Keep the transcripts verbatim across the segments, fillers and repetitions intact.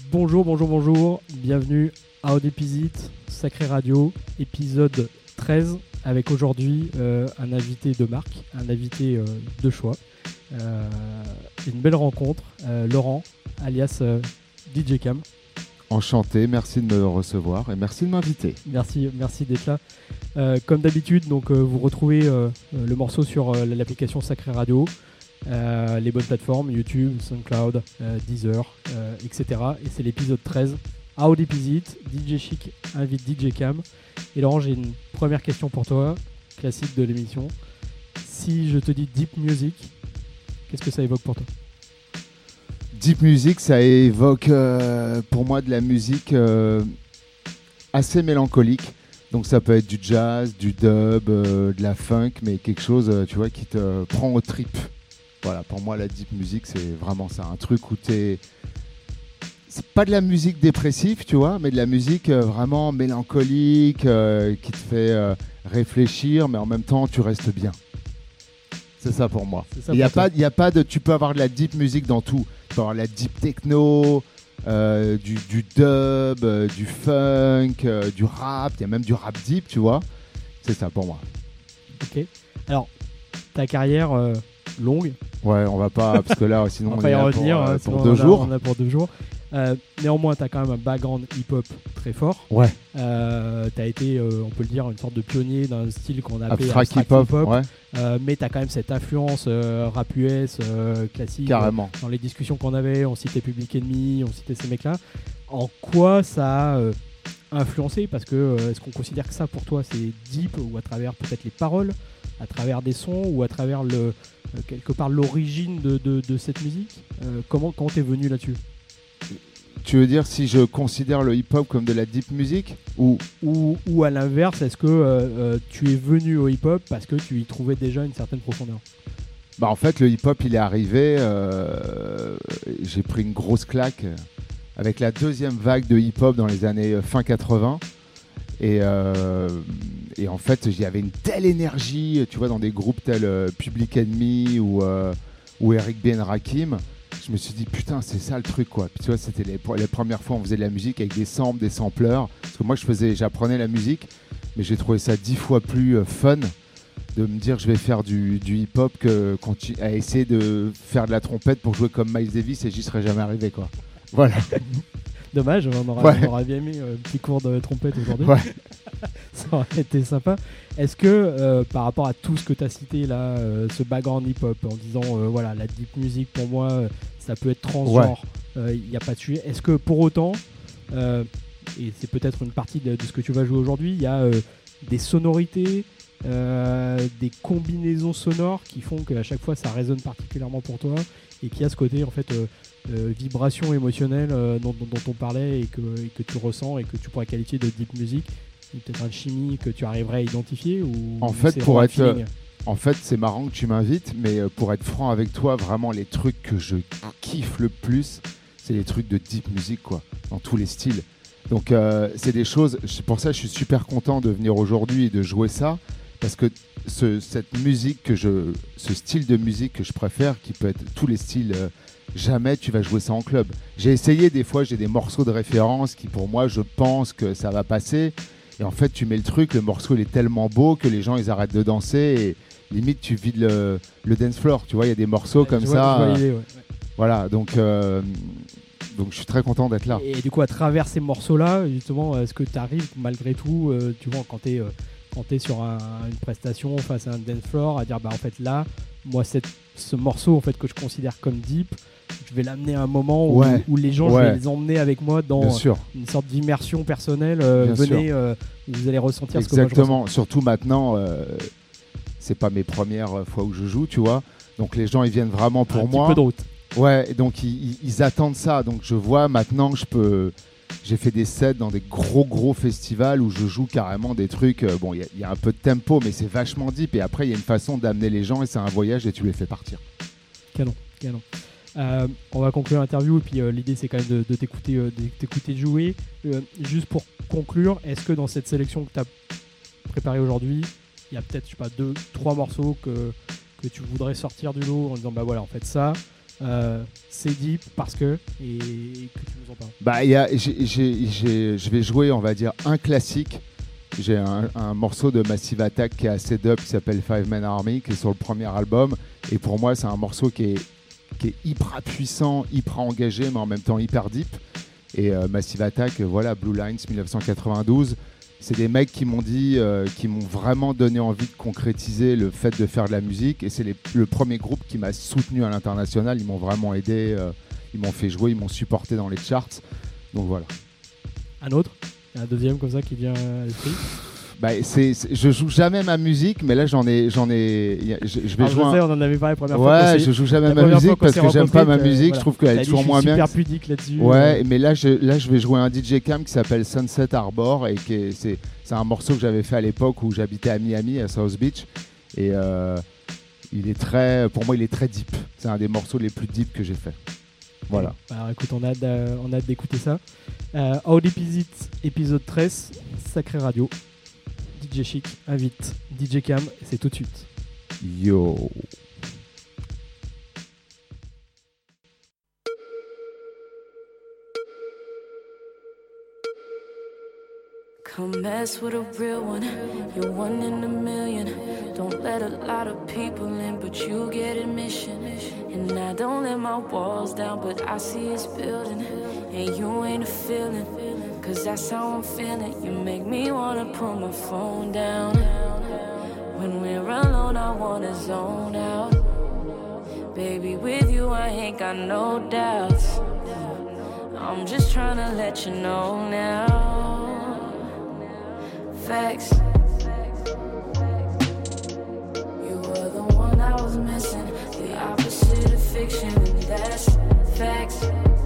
Bonjour, bonjour, bonjour, bienvenue à How Deep Is It, Sacré Radio, épisode treize, avec aujourd'hui euh, un invité de marque, un invité euh, de choix, euh, une belle rencontre, euh, Laurent, alias euh, D J Cam. Enchanté, merci de me recevoir et merci de m'inviter. Merci, merci d'être là. Euh, comme d'habitude, donc, euh, vous retrouvez euh, le morceau sur euh, l'application Sacré Radio, euh, les bonnes plateformes, YouTube, SoundCloud, euh, Deezer, euh, et cetera. Et c'est l'épisode treize. How Deep Is It, D J Chic invite D J Cam. Et Laurent, j'ai une première question pour toi, classique de l'émission. Si je te dis Deep Music, qu'est-ce que ça évoque pour toi ? Deep Music, ça évoque euh, pour moi de la musique euh, assez mélancolique. Donc ça peut être du jazz, du dub, euh, de la funk, mais quelque chose, euh, tu vois, qui te prend aux tripes. Voilà, pour moi, la Deep Music, c'est vraiment ça. Un truc où t'es... C'est pas de la musique dépressive, tu vois, mais de la musique euh, vraiment mélancolique, euh, qui te fait euh, réfléchir, mais en même temps, tu restes bien. C'est ça pour moi. Il y a pas, il y a pas de... Tu peux avoir de la Deep Music dans tout. Tu peux avoir la deep techno, euh, du, du dub, euh, du funk, euh, du rap, il y a même du rap deep, tu vois. C'est ça pour moi. Ok. Alors, ta carrière euh, longue. Ouais, on va pas, parce que là, sinon, on, on va est y là revenir, pour, euh, hein, pour deux on a, jours. On a pour deux jours. Euh, néanmoins, tu as quand même un background hip-hop très fort. Ouais. Euh, tu as été, euh, on peut le dire, une sorte de pionnier d'un style qu'on appelle abstract hip-hop. Hip ouais. euh, mais tu as quand même cette influence euh, rap U S euh, classique. Carrément. Euh, dans les discussions qu'on avait, on citait Public Enemy, on citait ces mecs-là. En quoi ça a euh, influencé ? Parce que euh, est-ce qu'on considère que ça, pour toi, c'est deep, ou à travers peut-être les paroles, à travers des sons, ou à travers le, euh, quelque part l'origine de, de, de cette musique ? euh, Comment comment t'es venu là-dessus ? Tu veux dire si je considère le hip-hop comme de la deep music ou... ou, ou à l'inverse, est-ce que euh, euh, tu es venu au hip-hop parce que tu y trouvais déjà une certaine profondeur ? Bah en fait, le hip-hop, il est arrivé, euh, j'ai pris une grosse claque avec la deuxième vague de hip-hop dans les années fin quatre-vingts. Et, euh, et en fait, il y avait une telle énergie, tu vois, dans des groupes tels euh, Public Enemy ou, euh, ou Eric B. and Rakim. Je me suis dit, putain, c'est ça le truc, quoi. Puis tu vois, c'était les, les premières fois où on faisait de la musique avec des samples, des sampleurs. Parce que moi, je faisais, j'apprenais la musique, mais j'ai trouvé ça dix fois plus euh, fun de me dire, je vais faire du, du hip-hop que continu- à essayer de faire de la trompette pour jouer comme Miles Davis et j'y serais jamais arrivé, quoi. Voilà. Dommage, on aurait, ouais. on aurait bien aimé euh, un petit cours de trompette aujourd'hui. Ouais. Ça aurait été sympa. Est-ce que euh, par rapport à tout ce que tu as cité là, euh, ce background hip-hop, en disant euh, voilà, la deep music pour moi, euh, ça peut être transgenre, il ouais. n'y euh, a pas de sujet. Est-ce que pour autant, euh, et c'est peut-être une partie de, de ce que tu vas jouer aujourd'hui, il y a euh, des sonorités, euh, des combinaisons sonores qui font qu'à chaque fois ça résonne particulièrement pour toi et qu'il y a ce côté en fait. Euh, Euh, vibration émotionnelle euh, dont, dont, dont on parlait et que, et que tu ressens et que tu pourrais qualifier de deep music, peut-être une chimie que tu arriverais à identifier ou en fait c'est pour être feeling. En fait c'est marrant que tu m'invites, mais pour être franc avec toi, vraiment les trucs que je kiffe le plus, c'est les trucs de deep music, quoi, dans tous les styles. Donc euh, c'est des choses, c'est pour ça que je suis super content de venir aujourd'hui et de jouer ça, parce que ce, cette musique que je, ce style de musique que je préfère, qui peut être tous les styles, euh, jamais tu vas jouer ça en club. J'ai essayé, des fois j'ai des morceaux de référence qui pour moi je pense que ça va passer, et en fait tu mets le truc, le morceau il est tellement beau que les gens ils arrêtent de danser et limite tu vides le, le dance floor, tu vois, il y a des morceaux ouais, comme vois, ça euh, l'idée, ouais. Voilà, donc euh, donc je suis très content d'être là. Et, et du coup à travers ces morceaux là justement, est-ce que tu arrives malgré tout, euh, tu vois, quand tu es euh, quand tu es sur un, une prestation face à un dance floor, à dire bah en fait là moi cette, ce morceau en fait que je considère comme deep, je vais l'amener à un moment où, ouais. où les gens, ouais. je vais les emmener avec moi dans euh, une sorte d'immersion personnelle. Euh, venez, euh, vous allez ressentir Exactement. ce que moi je ressens. Surtout maintenant, euh, c'est pas mes premières fois où je joue, tu vois. Donc les gens, ils viennent vraiment pour un moi. Un petit peu de route. Ouais, donc ils, ils attendent ça. Donc je vois maintenant, je peux. J'ai fait des sets dans des gros gros festivals où je joue carrément des trucs. Euh, bon, il y, y a un peu de tempo, mais c'est vachement deep. Et après, il y a une façon d'amener les gens et c'est un voyage et tu les fais partir. Canon, canon. Euh, on va conclure l'interview et puis euh, l'idée c'est quand même de, de t'écouter, euh, de t'écouter jouer. Euh, juste pour conclure, est-ce que dans cette sélection que tu as préparée aujourd'hui, il y a peut-être je sais pas deux, trois morceaux que, que tu voudrais sortir du lot en disant bah voilà en fait ça, euh, c'est deep parce que, et que tu nous en parles. Bah, y a, j'ai, j'ai, j'ai, je vais jouer, on va dire, un classique. J'ai un, un morceau de Massive Attack qui est assez dub qui s'appelle Five Man Army, qui est sur le premier album. Et pour moi, c'est un morceau qui est, qui est hyper puissant, hyper engagé, mais en même temps hyper deep. Et euh, Massive Attack, euh, voilà, Blue Lines dix-neuf cent quatre-vingt-douze. C'est des mecs qui m'ont dit, euh, qui m'ont vraiment donné envie de concrétiser le fait de faire de la musique. Et c'est les, le premier groupe qui m'a soutenu à l'international. Ils m'ont vraiment aidé, euh, ils m'ont fait jouer, ils m'ont supporté dans les charts. Donc voilà. Un autre ? Un deuxième comme ça qui vient à l'esprit. Bah, c'est, c'est, je joue jamais ma musique, mais là j'en ai, j'en ai, je, je vais Alors, jouer. Je sais, un... on en avait parlé la première ouais, fois. Ouais, je joue jamais ma musique parce que j'aime pas ma musique. Voilà. Je trouve qu'elle est toujours moins bien. Je suis super pudique là-dessus. Ouais, euh... mais là je, là je vais jouer un D J Cam qui s'appelle Sunset Harbor et qui est, c'est, c'est un morceau que j'avais fait à l'époque où j'habitais à Miami, à South Beach, et euh, il est très, pour moi il est très deep. C'est un des morceaux les plus deep que j'ai fait. Voilà. Alors écoute, on a hâte, euh, on a hâte d'écouter ça. Euh, How Deep Is It, épisode treize, Sacré Radio. D J Chic invite D J Cam, et c'est tout de suite. Yo. Come mess with a real one, you're one in a million. Don't let a lot of people in, but you get admission. And I don't let my walls down, but I see it's building. And you ain't a feeling, cause that's how I'm feeling. You make me wanna put my phone down. When we're alone, I wanna zone out. Baby, with you, I ain't got no doubts. I'm just tryna let you know now. Facts. You were the one I was missing, the opposite of fiction, and that's facts.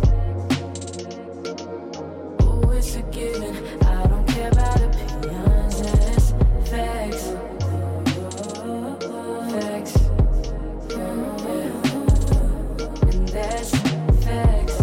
Oh, it's a given, I don't care about opinions, that's facts. Facts. And that's facts.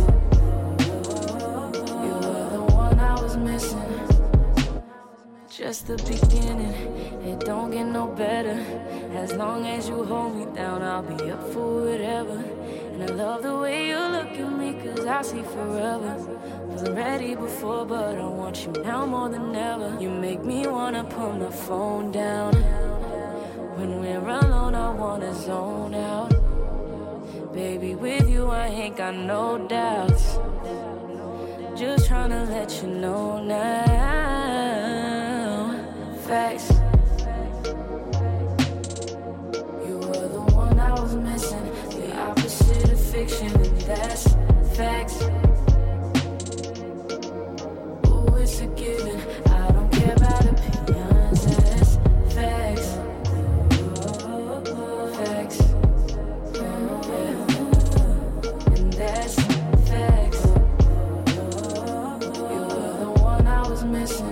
You were the one I was missing. Just the beginning, it don't get no better. As long as you hold me down, I'll be up for whatever. And I love the way you look at me, cause I see forever. Wasn't ready before, but I want you now more than ever. You make me wanna put my phone down. When we're alone, I wanna zone out. Baby, with you, I ain't got no doubts. Just tryna let you know now. Facts. You were the one I was missing, the opposite of fiction, and that's facts. Oh, it's a given, I don't care about opinions, that's facts. Facts. And that's facts. You were the one I was missing.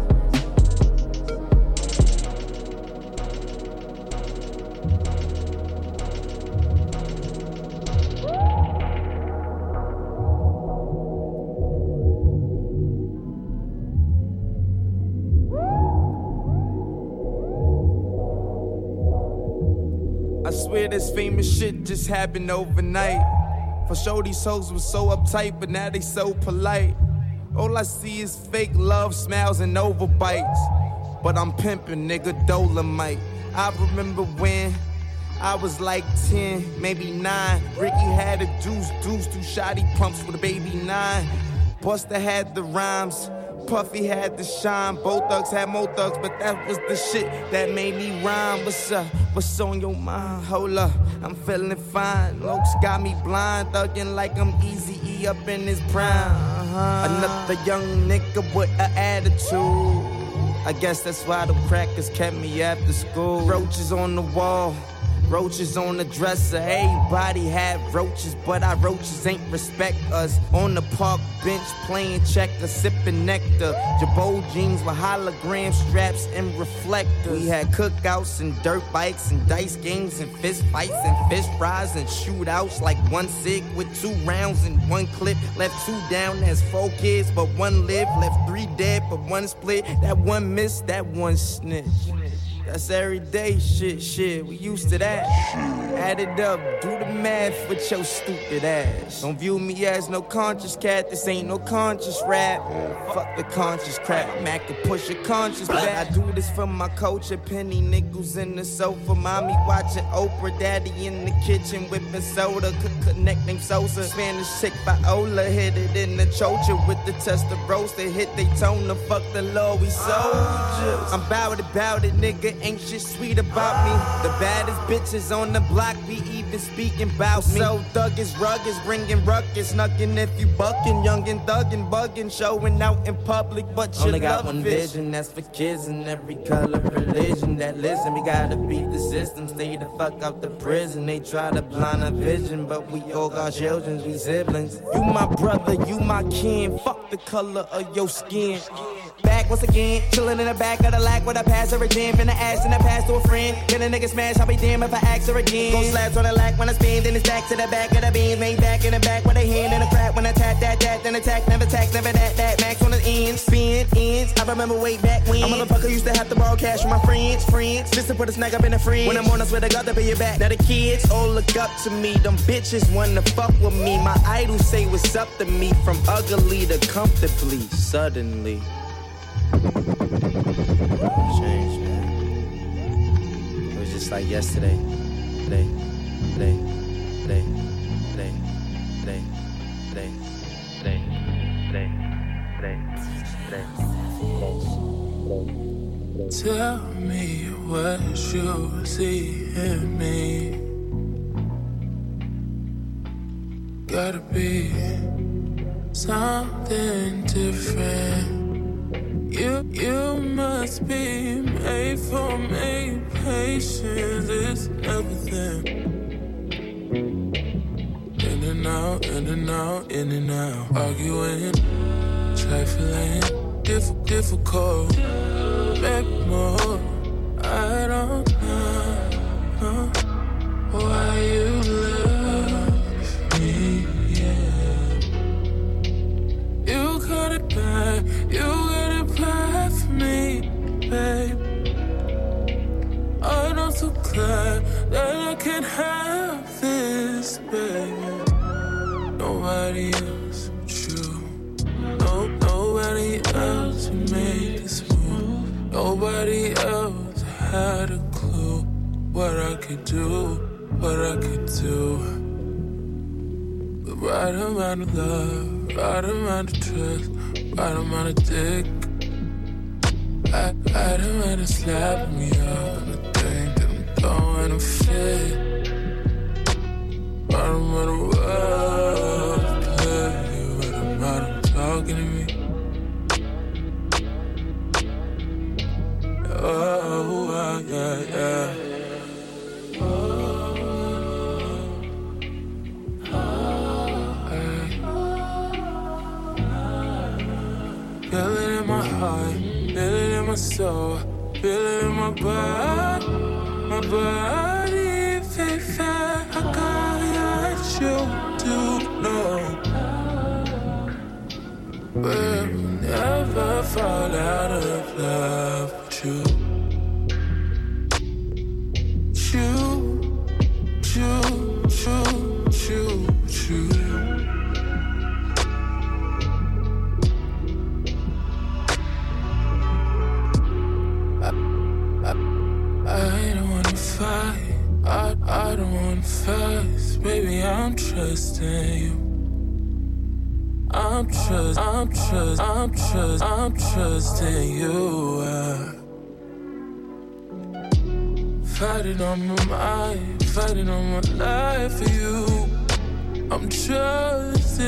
I swear this famous shit just happened overnight. For sure these hoes was so uptight, but now they so polite. All I see is fake love, smiles, and overbites. But I'm pimping, nigga, Dolomite. I remember when I was like ten, maybe nine. Ricky had a deuce, deuce, two shotty pumps with a baby nine. Busta had the rhymes, Puffy had the shine. Both thugs had more thugs, but that was the shit that made me rhyme. What's up? What's on your mind? Hold up, I'm feeling fine. Lokes got me blind, thugging like I'm Eazy-E up in his prime. Uh-huh. Another young nigga with an attitude. I guess that's why the crackers kept me after school. Roaches on the wall, roaches on the dresser. Everybody had roaches, but our roaches ain't respect us. On the park bench playing checkers, sipping nectar. Jabot jeans with hologram straps and reflectors. We had cookouts and dirt bikes and dice games and fist fights and fish fries and shootouts. Like one cig with two rounds and one clip. Left two down, that's four kids, but one lived. Left three dead, but one split. That one missed, that one snitch. That's everyday shit, shit. We used to that. Add it up, do the math with your stupid ass. Don't view me as no conscious cat. This ain't no conscious rap. Fuck the conscious crap. Mac to push your conscious back. I do this for my culture. Penny nickels in the sofa. Mommy watching Oprah. Daddy in the kitchen whipping soda. Connecting Sosa. Spanish chick Viola. Hit it in the chocha with the testosterone. They hit Daytona. Fuck the law, we soldiers. I'm bout it, bout it, nigga. Ain't shit sweet about me. The baddest bitches on the block be even speaking about me. So thug is rugged, bringing ruckus. Snuckin' if you buckin'. Young and thuggin', buggin'. Showing out in public, but you only got one fish. Vision. That's for kids in every color, religion that listen. We gotta beat the system. Stay the fuck out the prison. They try to blind our vision, but we all got children, we siblings. You my brother, you my kin. Fuck the color of your skin. Back once again, chillin' in the back of the lack with a pass or a gym. Finna ask in the past to a friend. Get a nigga smash, I'll be damn if I ask her again. Go slabs on the lack when I spin, then it's back to the back of the beans. Made back in the back with a hand in the crack. When I tap that, that, then attack, never tax, never that, that. Max on the ends, spin, ends. I remember way back when a motherfucker used to have to borrow cash from my friends, friends. Just to put a snack up in the fridge. When I'm on, I swear to God, to pay you back. Now the kids all look up to me. Them bitches wanna fuck with me. My idols say what's up to me. From ugly to comfortably, suddenly. Change, man. It was just like yesterday. Day, day, day, day, day, day, day, day, day, day. Tell me what you see in me. Gotta be something different. You, you must be made for me. Patience is everything. In and out, in and out, in and out. Arguing, trifling, diff- difficult. Back more. I don't know why you love me. Yeah. You got it back. You got it back for me, babe. I'm so glad that I can have this, baby. Nobody else but you. No, nobody else made this move. Nobody else had a clue what I could do, what I could do. The right amount of love, right amount of trust, right amount of dick. I, I don't wanna slap me up. I think that I'm throwing a fit. I don't wanna love play. What am I talking to me? Oh, oh yeah, yeah. Feel it in my heart, feel it in my soul, feel it in my body, my body, baby. I got you to know. We'll never fall out of love with you. You, you, you, you, you. I, I don't wanna fight, baby, I'm trusting you. I'm trust, I'm trust, I'm trust, I'm trusting you. Uh, fighting on my mind, fighting on my life for you. I'm trusting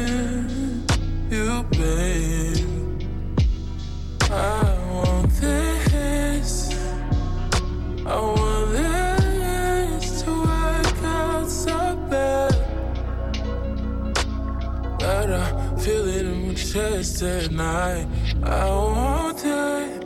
you, babe. I want this, I want this. Feel it in my chest at night. I want it.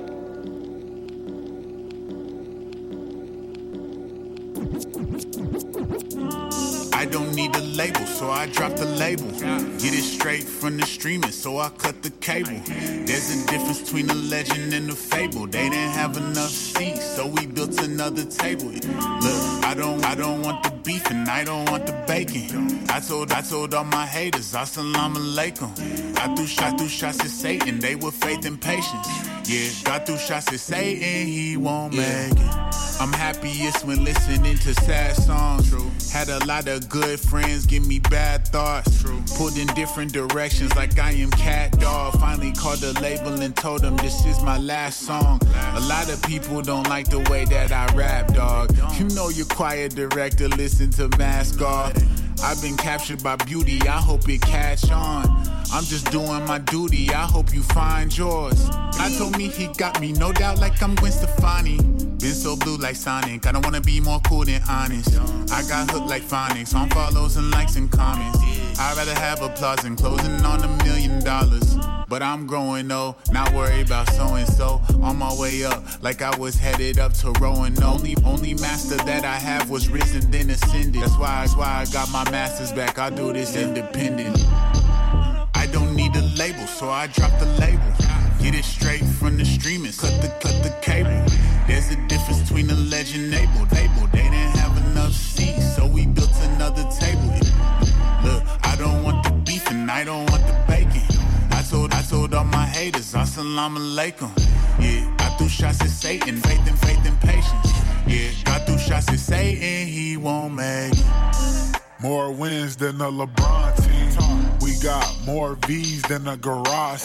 I don't need need a label, so I dropped the label. Get it straight from the streaming, so I cut the cable. There's a difference between a legend and a fable. They didn't have enough seats, so we built another table. Look, I don't, I don't want the beef and I don't want the bacon. I told, I told all my haters, assalamu alaikum. I threw shots, threw shots at Satan, they were faith and patience. Yeah, God threw shots at Satan, he won't yeah. make it. I'm happiest when listening to sad songs. True. Had a lot of good friends give me bad thoughts. True. Pulled in different directions like I am Cat Dog. Finally called the label and told them this is my last song. A lot of people don't like the way that I rap, dog. You know your choir director listen to Mask Off. I've been captured by beauty, I hope it catch on. I'm just doing my duty, I hope you find yours. I told me he got me, no doubt like I'm Gwen Stefani. Been so blue like Sonic, I don't wanna be more cool than honest. I got hooked like phonics, on follows and likes and comments. I'd rather have applause than closing on a million dollars. But I'm growing old, not worried about so-and-so. On my way up, like I was headed up to Rowan. Only, only master that I have was risen, then ascended. That's why, that's why I got my masters back, I'll do this independent. I don't need a label, so I dropped the label. Get it straight from the streamers, cut the, cut the cable. There's a difference between a legend and label. Label, they didn't have enough seats, so we built another table. Look, I don't want the beef and I don't want the bacon. I told, I told all my haters, assalamu alaikum. Yeah, I threw shots at Satan, faith and faith and patience. Yeah, I threw shots at Satan, he won't make it. More wins than the LeBron team. We got more V's than a garage.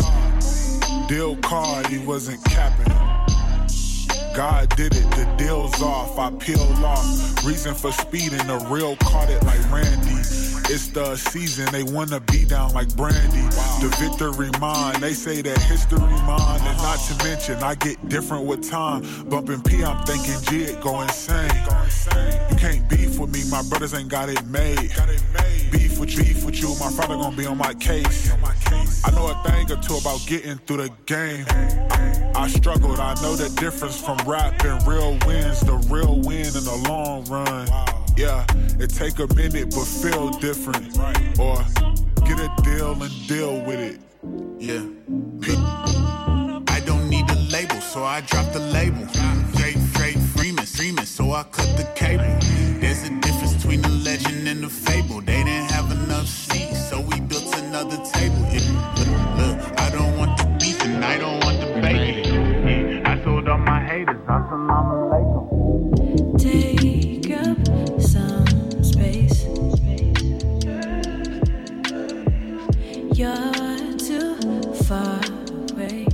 Deal card, he wasn't capping it. God did it, the deal's off, I peeled off. Reason for speeding, the real caught it like Randy. It's the season, they wanna be down like Brandy. Wow. The victory mine, they say that history mine. And not to mention, I get different with time. Bumping P, I'm thinking G, go insane. You can't beef with me, my brothers ain't got it made. Beef with you, beef with you, my father gonna be on my case. I know a thing or two about getting through the game. I, I struggled, I know the difference from rap and real wins. The real win in the long run. Yeah, it take a minute but feel different. Or get a deal and deal with it. Yeah. I don't need a label, so I dropped the label. Straight, straight Freeman, Freeman, so I cut the cable. There's a difference between a legend and a fable. They didn't have enough seats, so we built another table. Yeah. Look, look, I don't want the beef and I don't want the bacon. Yeah. I told all my haters, assalamu alaikum. Take up some space. You're too far away.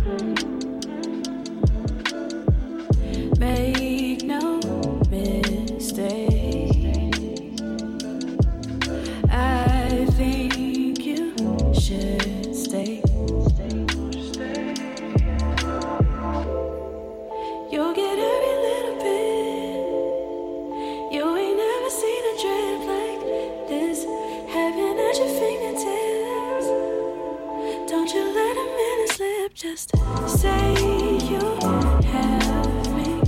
Make no mistake. I think you should stay. You'll get every little bit. You ain't never seen a drip like this. Heaven at your fingertips. Don't you let a minute slip. Just say you have me.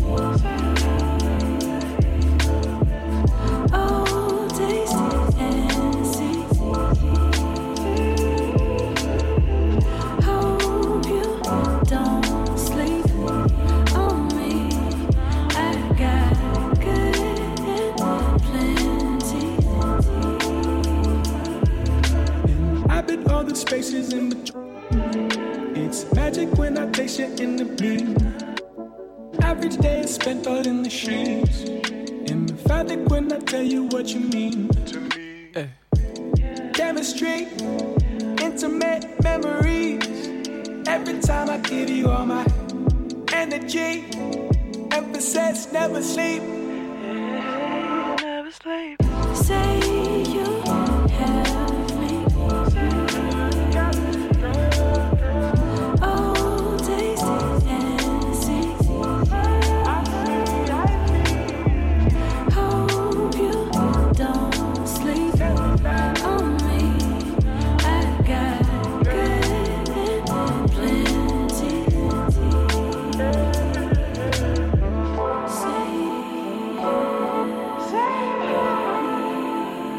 Oh, taste it and see. Hope you don't sleep on me. I got good and plenty. Inhabit all the spaces in between. It's magic when I taste you in the beam. Average day is spent all in the sheets. Emphatic when I tell you what you mean to me. Eh. Chemistry, intimate memories. Every time I give you all my energy. Emphasis, never sleep. Never sleep. Say you have me. Oh, taste it and see. Hope you don't sleep on me. I got good and plenty. Say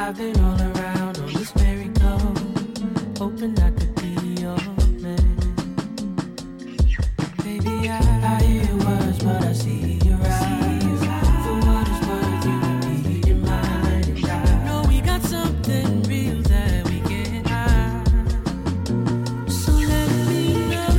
I've been all around on this merry-go, hoping I could be your man. Baby, I, I hear your words, but I see your eyes. For what it's worth, you repeat in mind. And I know we got something real that we can hide. So let me know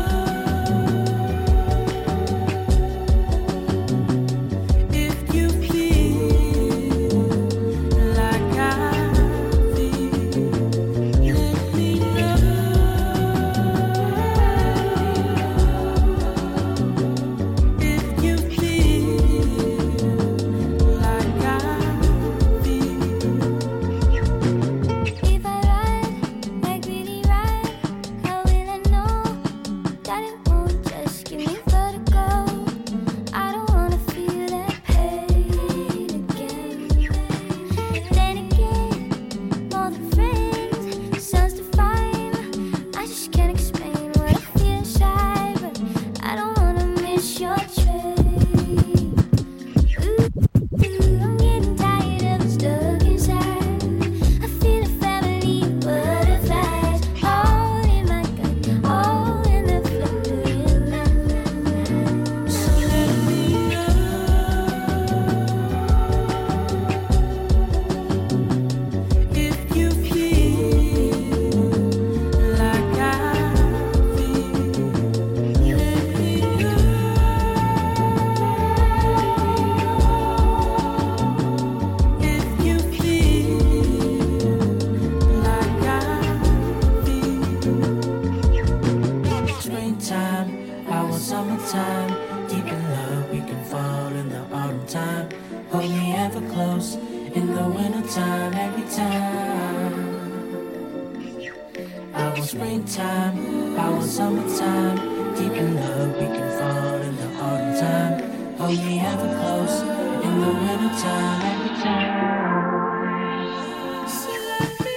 if you feel like I feel. Let me if you feel like I feel. If I ride, like really ride, how will I know that it won't just give me vertigo? I don't wanna feel that pain again. Then again, more than friends, sounds divine. I just can't explain what I feel inside, but I don't wanna miss your train. Ooh, I'm getting tired of stuck inside. I feel a family of butterflies, all in my gut, all in the flickering light. So let me if you feel like I feel. Let me if you feel like I feel. Springtime, I want summertime. Deep in love, we can fall in the autumn time. Hold me ever close in the wintertime, every time. I want springtime, I want summertime. Deep in love, we can fall in the autumn time. Hold me ever close in the wintertime, every time. So let me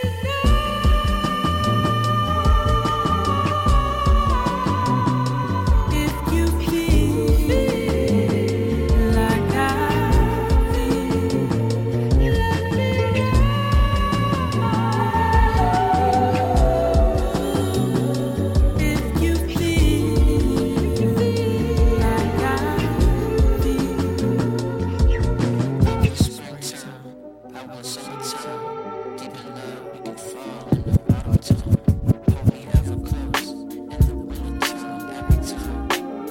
if you feel like I feel. Let me if you feel like I feel. Springtime, I want summertime. Deep in love, we can fall in the autumn time. Hold me ever close in the wintertime, every time.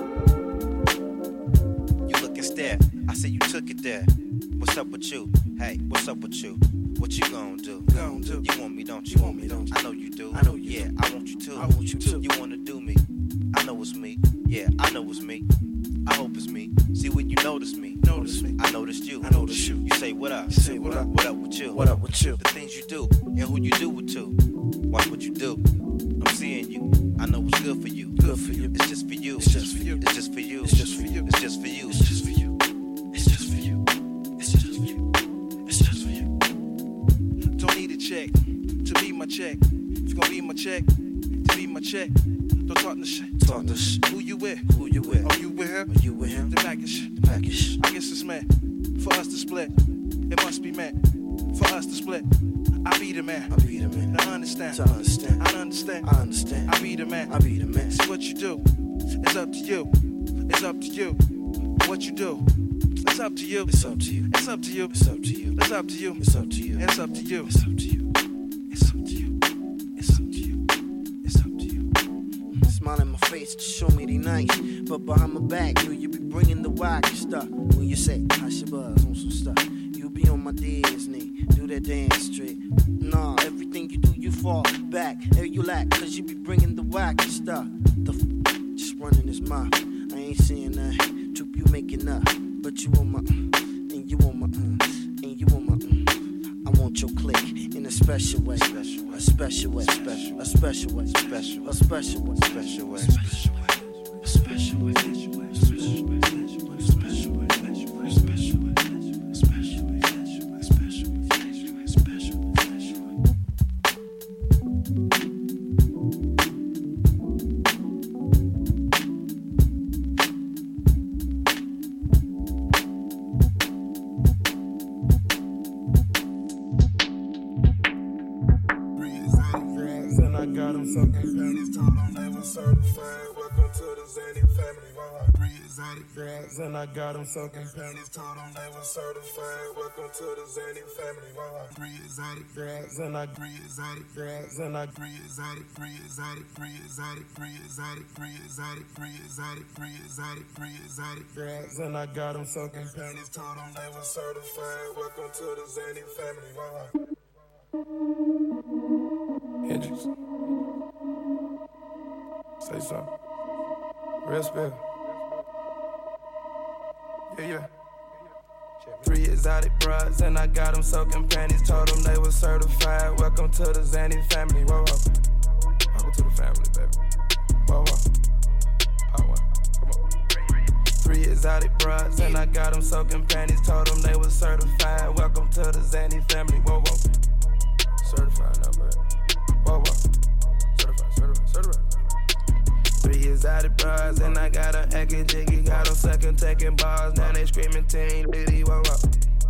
You look and stare. I say you took it there. What's up with you? Hey, what's up with you? What you gon' do? Gon' do. You want me, don't you? Want me, don't you? I know you do. I know you Yeah, do. I want you too. I want you too. You wanna do me? I know it's me. Yeah, I know it's me. I hope it's me. See when you notice me. Notice me. I noticed you. I notice you. You say what up? You say what up? What up with you? What up with you? The things you do and who you do it to. Watch what you do. I'm seeing you. I know what's good for you. Good for you. It's just for you. It's just for you. It's just for you. It's just for you. It's just for you. It's just for you. It's just for you. It's just for you. It's just for you. Don't need a check to be my check. If you gon' be my check, to be my check. Don't talk the shit. Talk the shit. Who you with? Who you with? Are you with him? Are you with him? The package. The package. I guess it's meant for us to split. It must be meant for us to split. I be the man. I be the man. Now understand. To understand. I understand. I understand. I be the man. I be the man. See what you do. It's up to you. It's up to you. What you do. It's up to you. It's up to you. It's up to you. It's up to you. It's up to you. It's up to you. It's up to you. It's up to you. It's up to you. It's up to you. It's up to you. Smile in my face to show me they nice, but behind my back, you you be bringing the whack stuff. When you say I should buzz on some stuff, you be on my Disney, do that dance straight. Nah, everything you do, you fall back. Hey, you lack, cause you be bringing the whack stuff. The f- just running his mouth. I ain't saying that. Troop, you making up, but you on my, and you on my, uh, and you on my. Uh, I want your click in a special way, special way, a special way, special, a special way, special, a special way, special way, special way, a special way, special way, special way, special way, special way, special way, special way, special way, special way, special way, special way, special way. got them soaking panties, told them they were certified. Welcome to the Zany family. Wow. Three exotic girls, and I got them soaking panties, told them they were certified. Welcome to the Zany family. Wow. Three exotic girls, and I three exotic girls, and I three exotic, three exotic, three exotic, three exotic, three exotic, three exotic, three exotic, three exotic girls, and I got them soaking panties, told them they were certified. Welcome to the Zany family. Wow. Hendrix. Say something. Real spill. Yeah, yeah. Three exotic bras, and I got them soaking panties. Told them they were certified. Welcome to the Zany family. Whoa, whoa. Welcome to the family, baby. Whoa, whoa. Power one. Come on. Three exotic bras, and I got them soaking panties. Told them they were certified. Welcome to the Zany family. Whoa, whoa. Certified number. Whoa, whoa. Certified, certified, certified. Three exotic bras, and I got them acting jiggy. Got them sucking, taking bars. Now they screaming, Team Liddy. Whoa, whoa.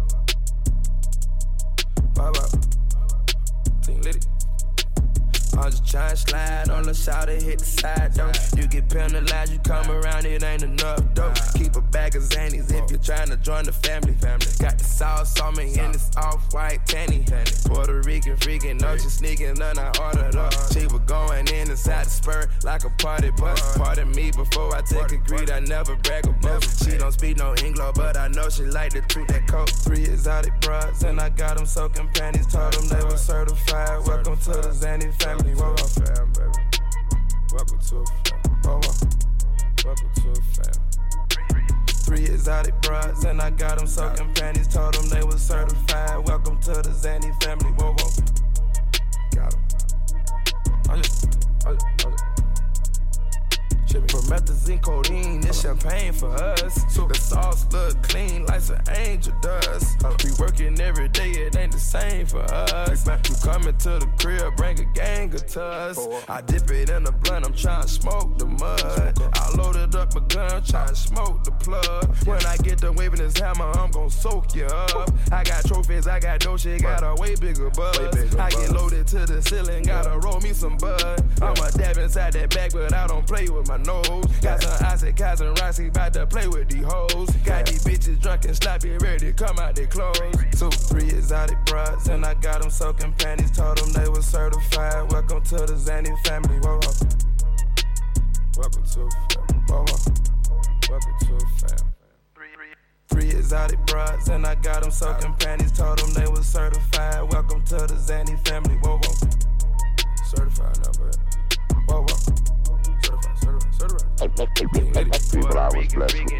Whoa, whoa. Team Liddy. I'm just trying to slide on the side and hit the side, though. You get penalized, you come around, it ain't enough, though. Keep a bag of Xannies if you're trying to join the family. Got the sauce on me and it's off-white tanny. Puerto Rican freaking, no, she sneaking, none I ordered up. She was going in inside the spur like a party bus. Pardon me before I take a greed, I never brag about. She don't speak no English, but I know she like to toot that coat. Three exotic bras, and I got them soaking panties. Told them they were certified. Welcome to the Zany family. Whoa, whoa, fam, baby. Welcome to a fam. Whoa, whoa. Welcome to a fam. Three exotic bras, and I got them soaking panties. Told them they were certified. Welcome to the Zany family. Whoa, whoa. Got them. I just, I just, I just. Promethazine, codeine, this champagne for us. The sauce look clean like some angel dust. We working every day, it ain't the same for us. You coming to the crib, bring a gang of tuss. I dip it in the blunt, I'm trying to smoke the mud. I loaded up a gun, trying to smoke the plug. When I get done waving this hammer, I'm gon' soak you up. I got trophies, I got dough, shit, got a way bigger buzz. I get loaded to the ceiling, gotta roll me some bud. I'm a dab inside that bag, but I don't play with my nose. Got some Isaac, Kaz, and Rossi, bout to play with these hoes. Got these bitches drunk and sloppy, ready to come out their clothes. Two, three exotic bras, and I got them soaking panties. Told them they were certified. Welcome to the Zany family. Whoa, whoa. Welcome to a fam. Whoa, whoa. Welcome to a fam. Three exotic bras, and I got them soaking panties. Told them they were certified. Welcome to the Zany family. Whoa, whoa. Certified number. Whoa, whoa. Certified, certified, certified. People I was blessed with.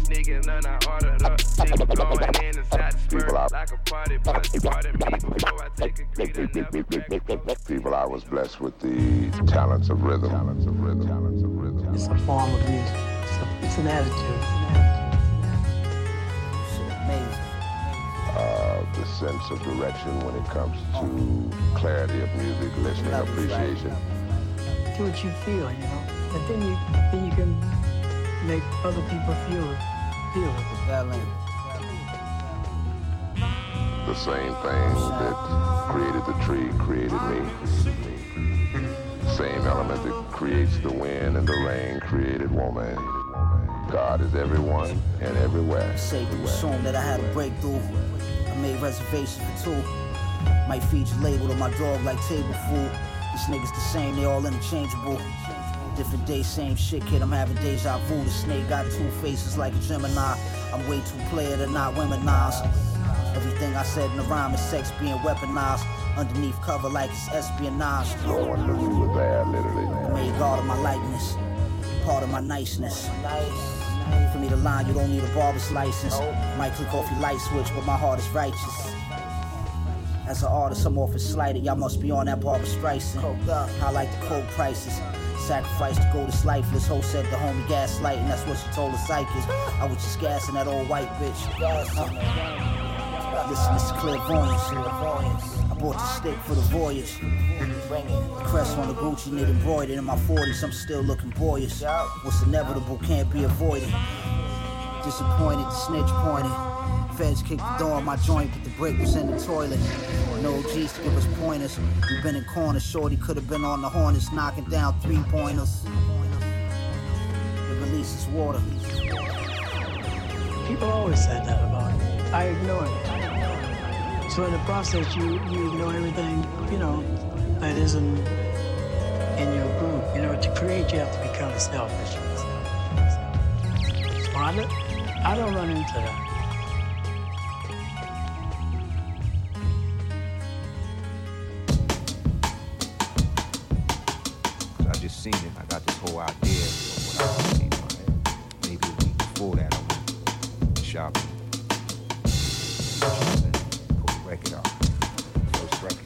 People I was blessed with the talents of rhythm. Talents of rhythm. Talents of rhythm. It's a form of music. It's, a, it's an attitude. Uh, the sense of direction when it comes to clarity of music, listening, appreciation. Do what you feel, you know, and then you then you can make other people feel it, feel it. The same thing that created the tree created me. Same element that creates the wind and the rain created woman. God is everyone and everywhere. Say to assume that I had a breakthrough. I made reservations for two. Might feed you labeled on my dog like table food. These niggas the same, they all interchangeable. Different day, same shit, kid, I'm having deja vu. The snake got two faces like a Gemini. I'm way too player to not womenized. Everything I said in the rhyme is sex being weaponized. Underneath cover like it's espionage. No one knew you were there, literally. I made God of my likeness, part of my niceness. For me to line, you don't need a barber's license. Might click off your light switch, but my heart is righteous. As an artist, I'm often slighted. Y'all must be on that Barbra Streisand. I like the cold prices. Sacrifice to go this lifeless. Ho said the homie gaslighting. That's what she told the psychics. I was just gassing that old white bitch. Uh, listen, this is clairvoyance. I bought the stick for the voyage. The crest on the Gucci knit embroidered. In my forties, I'm still looking boyish. What's inevitable can't be avoided. Disappointed, the snitch pointed. Feds kicked the door of my joint, but the brick was in the toilet. No G's to give us pointers. We've been in corners, shorty could have been on the Hornets, knocking down three pointers. The release is water. People always said that about me. I ignored it. So in the process, you, you ignore everything, you know, that isn't in your group. You know, to create, you have to be kind of selfish. So I don't, I don't run into that. I just seen it. I got this whole idea of what I was seeing in my head. Maybe a week before that, I went shopping. Pull the record out. First record.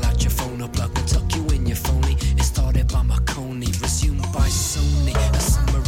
Plug and tuck you in your phony. It started by Marconi, resumed by Sony. A summer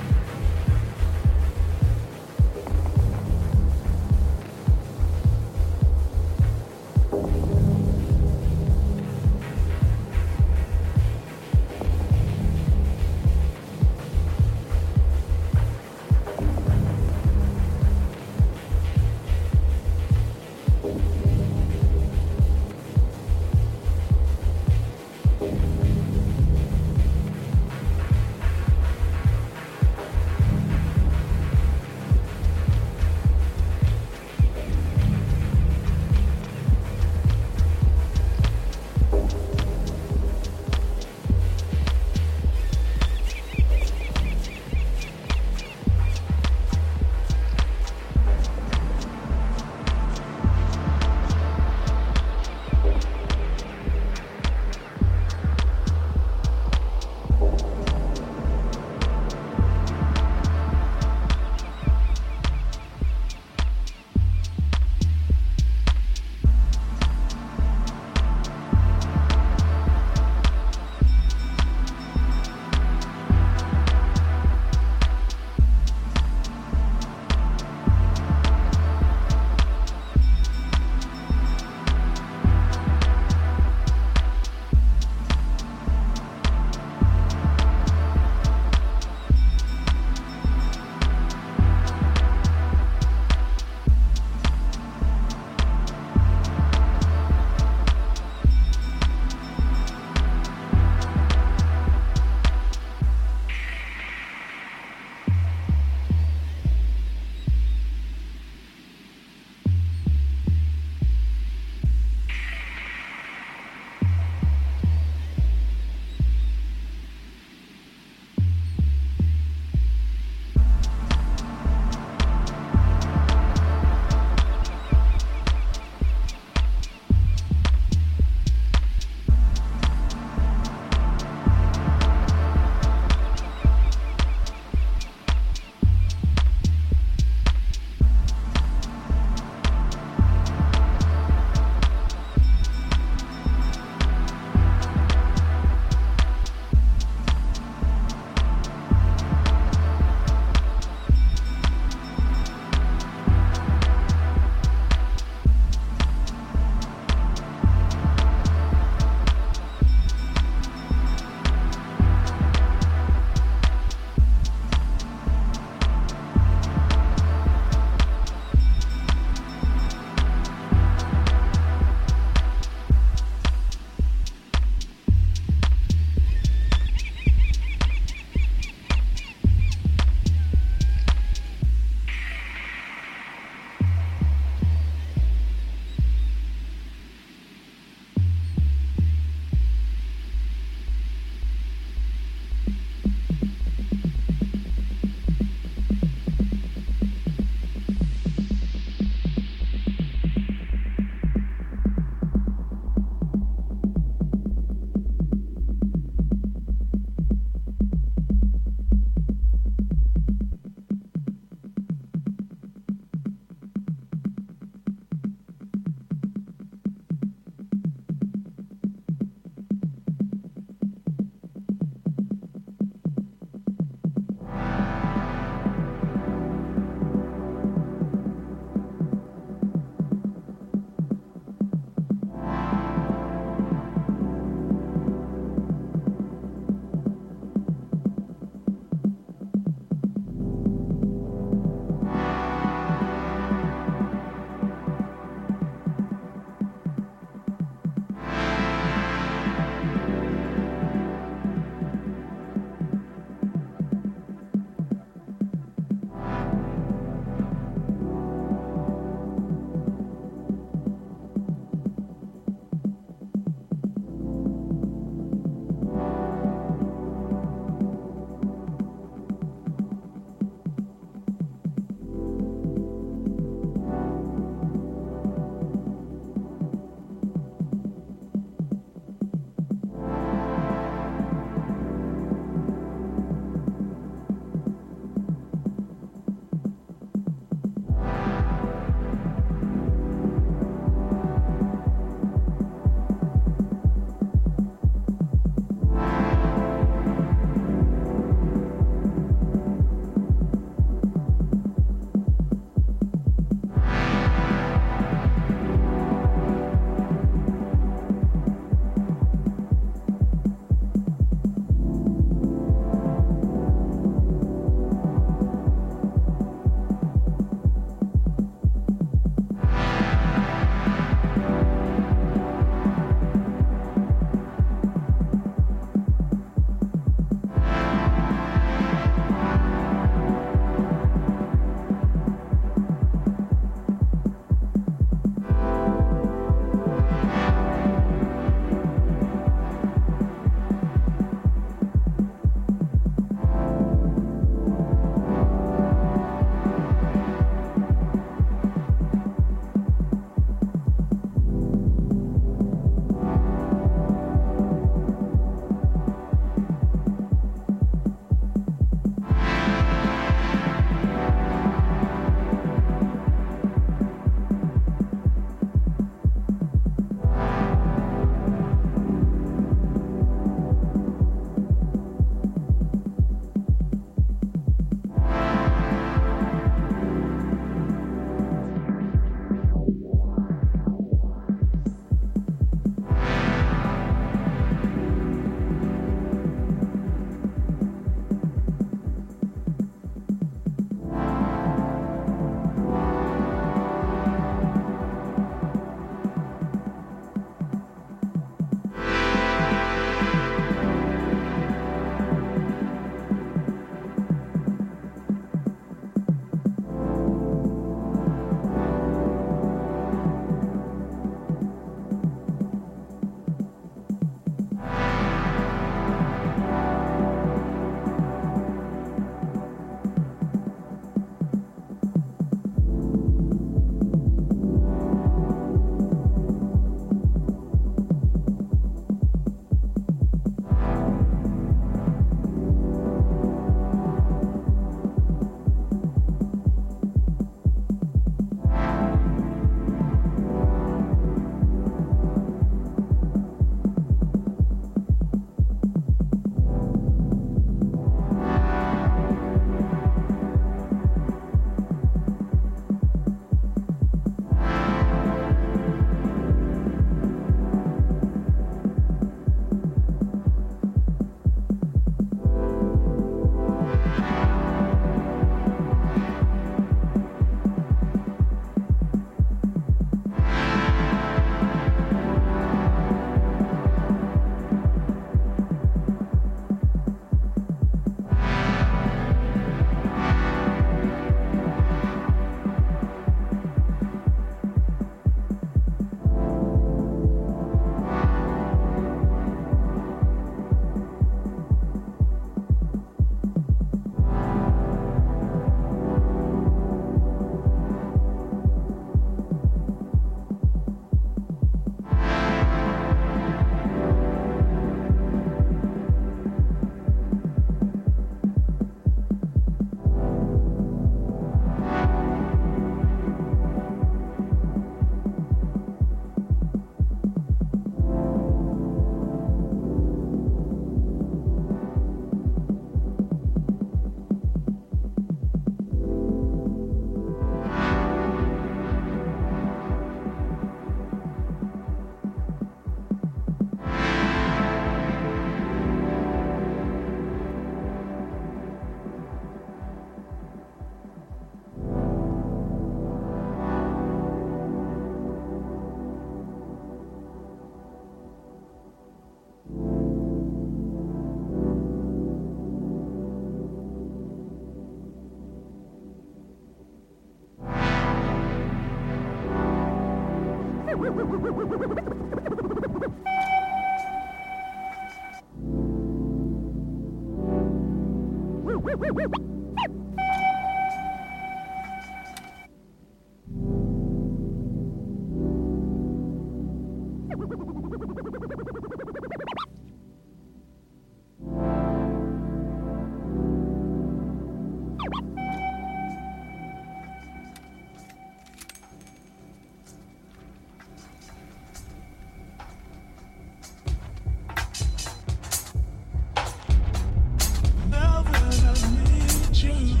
Now that I need you.